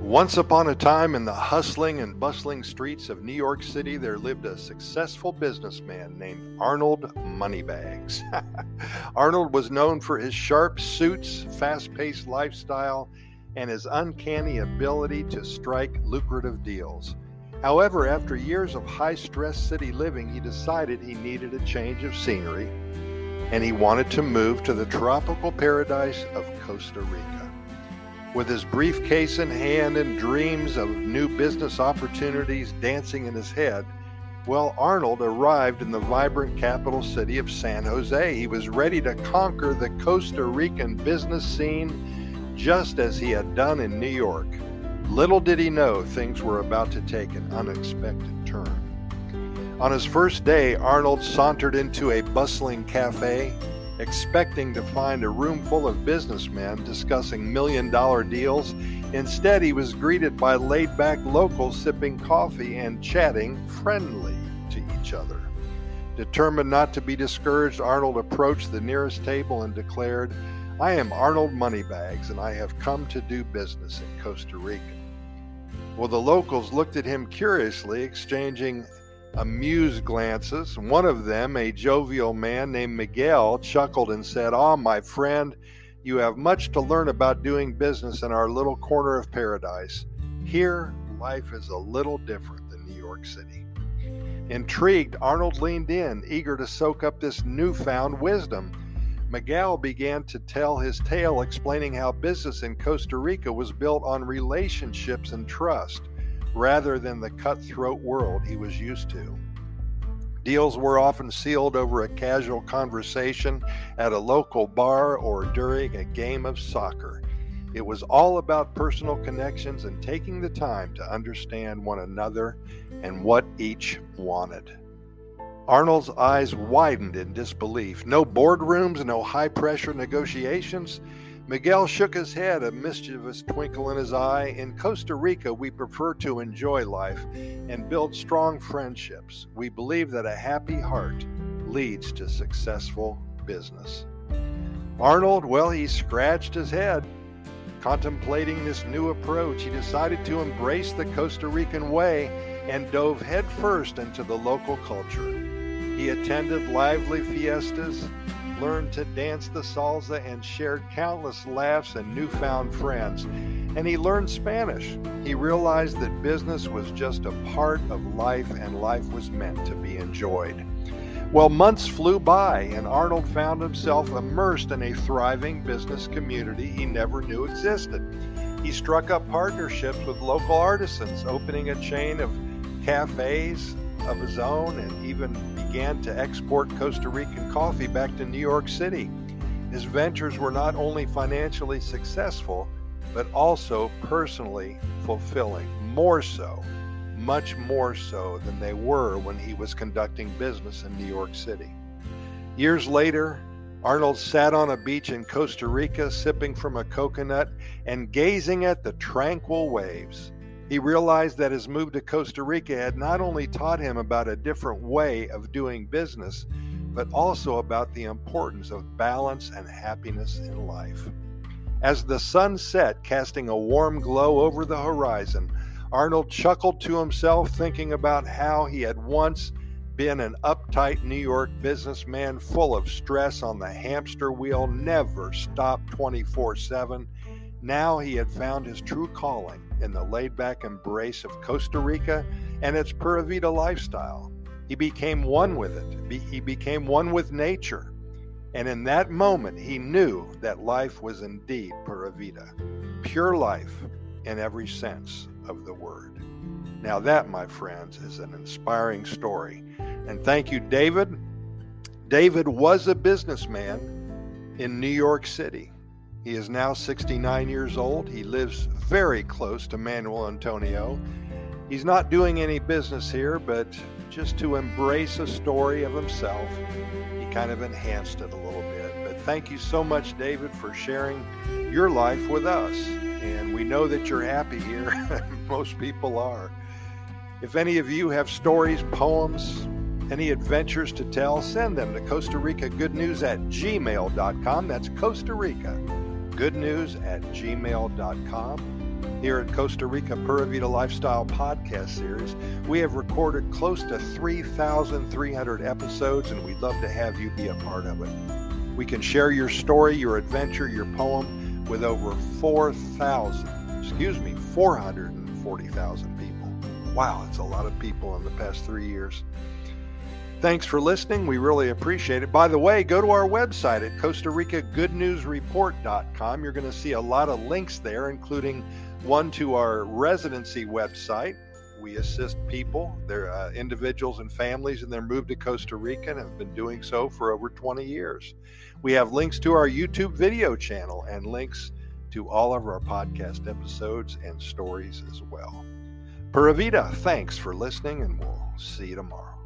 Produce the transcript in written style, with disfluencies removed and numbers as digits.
Once upon a time, in the hustling and bustling streets of New York City, there lived a successful businessman named Arnold Moneybags. Arnold was known for his sharp suits, fast-paced lifestyle, and his uncanny ability to strike lucrative deals. However, after years of high-stress city living, he decided he needed a change of scenery, and he wanted to move to the tropical paradise of Costa Rica. With his briefcase in hand and dreams of new business opportunities dancing in his head, Arnold arrived in the vibrant capital city of San Jose. He was ready to conquer the Costa Rican business scene just as he had done in New York. Little did he know things were about to take an unexpected turn. On his first day, Arnold sauntered into a bustling cafe, expecting to find a room full of businessmen discussing million-dollar deals. Instead, he was greeted by laid-back locals sipping coffee and chatting friendly to each other. Determined not to be discouraged, Arnold approached the nearest table and declared, "I am Arnold Moneybags, and I have come to do business in Costa Rica." The locals looked at him curiously, exchanging amused glances. One of them, a jovial man named Miguel, chuckled and said, my friend, you have much to learn about doing business in our little corner of paradise. Here, life is a little different than New York City." Intrigued, Arnold leaned in, eager to soak up this newfound wisdom. Miguel began to tell his tale, explaining how business in Costa Rica was built on relationships and trust, rather than the cutthroat world he was used to. Deals were often sealed over a casual conversation at a local bar or during a game of soccer. It was all about personal connections and taking the time to understand one another and what each wanted. Arnold's eyes widened in disbelief. No boardrooms, no high-pressure negotiations. Miguel shook his head, a mischievous twinkle in his eye. In Costa Rica, we prefer to enjoy life and build strong friendships. We believe that a happy heart leads to successful business. Arnold, he scratched his head. Contemplating this new approach, he decided to embrace the Costa Rican way and dove headfirst into the local culture. He attended lively fiestas, learned to dance the salsa, and shared countless laughs and newfound friends. And he learned Spanish. He realized that business was just a part of life, and life was meant to be enjoyed. Months flew by, and Arnold found himself immersed in a thriving business community he never knew existed. He struck up partnerships with local artisans, opening a chain of cafes of his own, and even began to export Costa Rican coffee back to New York City. His ventures were not only financially successful, but also personally fulfilling, much more so than they were when he was conducting business in New York City. Years later, Arnold sat on a beach in Costa Rica, sipping from a coconut and gazing at the tranquil waves. He realized that his move to Costa Rica had not only taught him about a different way of doing business, but also about the importance of balance and happiness in life. As the sun set, casting a warm glow over the horizon, Arnold chuckled to himself, thinking about how he had once been an uptight New York businessman full of stress on the hamster wheel, never stopped 24/7. Now he had found his true calling in the laid-back embrace of Costa Rica and its Pura Vida lifestyle. He became one with it. He became one with nature. And in that moment, he knew that life was indeed Pura Vida, pure life in every sense of the word. Now that, my friends, is an inspiring story. And thank you, David. David was a businessman in New York City. He is now 69 years old. He lives very close to Manuel Antonio. He's not doing any business here, but just to embrace a story of himself, he kind of enhanced it a little bit. But thank you so much, David, for sharing your life with us. And we know that you're happy here. Most people are. If any of you have stories, poems, any adventures to tell, send them to Costa Rica Good News at gmail.com. That's Costa Rica Good News at gmail.com. Here at Costa Rica Pura Vida Lifestyle Podcast Series, we have recorded close to 3,300 episodes, and we'd love to have you be a part of it. We can share your story, your adventure, your poem with over 440,000 people. Wow, that's a lot of people in the past 3 years. Thanks for listening. We really appreciate it. By the way, go to our website at CostaRicaGoodNewsReport.com. You're going to see a lot of links there, including one to our residency website. We assist people, their individuals and families in their move to Costa Rica, and have been doing so for over 20 years. We have links to our YouTube video channel and links to all of our podcast episodes and stories as well. Pura Vida, thanks for listening, and we'll see you tomorrow.